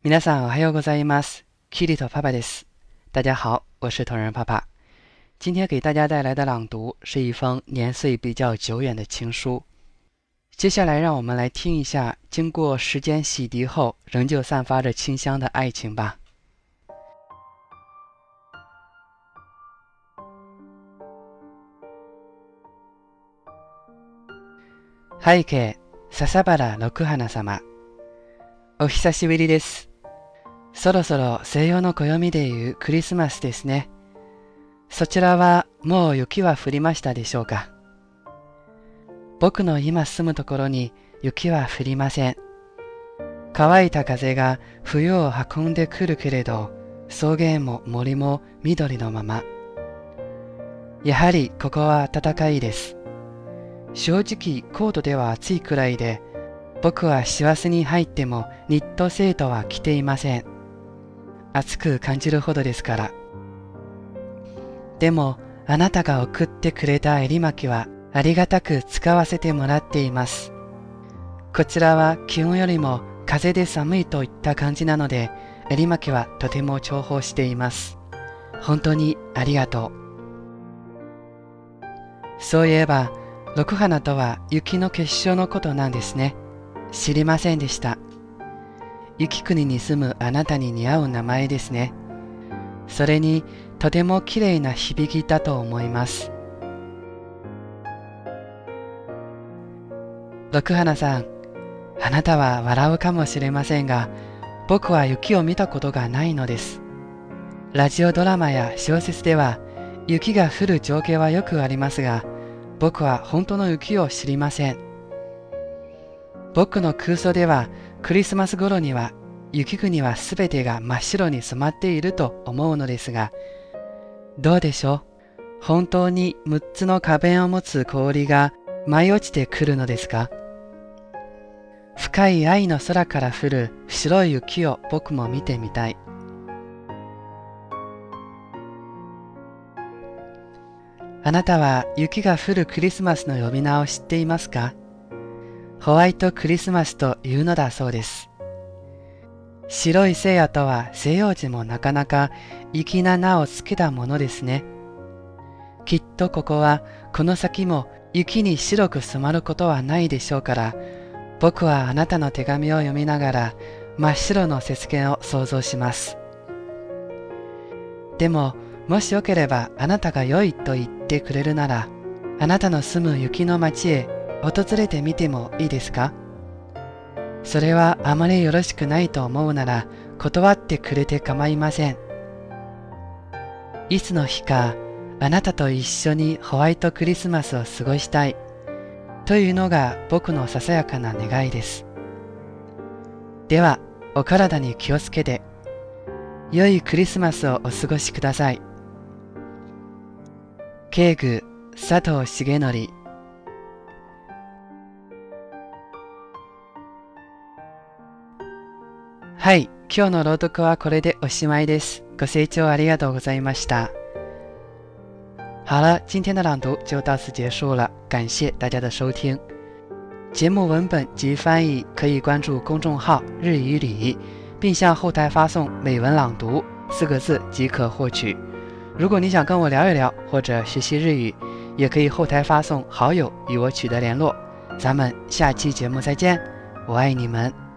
皆さんおはようございます。キリトパパです。大家好，我是同人爸爸。今天给大家带来的朗读是一封年岁比较久远的情书。接下来让我们来听一下经过时间洗涤后仍旧散发着清香的爱情吧。背景、笹原六花様。お久しぶりです。そろそろ西洋の暦でいうクリスマスですね。そちらはもう雪は降りましたでしょうか。僕の今住むところに雪は降りません。乾いた風が冬を運んでくるけれど、草原も森も緑のまま。やはりここは暖かいです。正直コートでは暑いくらいで、僕は師走に入ってもニットセートは着ていません。暑く感じるほどですから。でもあなたが送ってくれた襟巻きはありがたく使わせてもらっています。こちらは気温よりも風で寒いといった感じなので、襟巻きはとても重宝しています。本当にありがとう。そういえば六花とは雪の結晶のことなんですね。知りませんでした。雪国に住むあなたに似合う名前ですね。それにとてもきれいな響きだと思います。六花さん、あなたは笑うかもしれませんが、僕は雪を見たことがないのです。ラジオドラマや小説では雪が降る情景はよくありますが、僕は本当の雪を知りません。僕の空想ではクリスマス頃には雪国はすべてが真っ白に染まっていると思うのですが、どうでしょう。本当に6つの花弁を持つ氷が舞い落ちてくるのですか。深い愛の空から降る白い雪を僕も見てみたい。あなたは雪が降るクリスマスの呼び名を知っていますか。ホワイトクリスマスというのだそうです。白い聖夜とは西洋人もなかなか粋な名をつけたものですね。きっとここはこの先も雪に白く染まることはないでしょうから、僕はあなたの手紙を読みながら真っ白の雪原を想像します。でももしよければあなたが良いと言ってくれるなら、あなたの住む雪の町へ訪れてみてもいいですか。それはあまりよろしくないと思うなら断ってくれて構いません。いつの日かあなたと一緒にホワイトクリスマスを過ごしたいというのが僕のささやかな願いです。ではお体に気をつけて良いクリスマスをお過ごしください。敬具佐藤重則。はい、今日の朗読はこれでおしまいです。ご清聴ありがとうございました。好了，今天的朗读就到此结束了，感谢大家的收听。节目文本及翻译可以关注公众号日语里，并向后台发送美文朗读4个字即可获取。如果你想跟我聊一聊或者学习日语，也可以后台发送好友与我取得联络。咱们下期节目再见，我爱你们。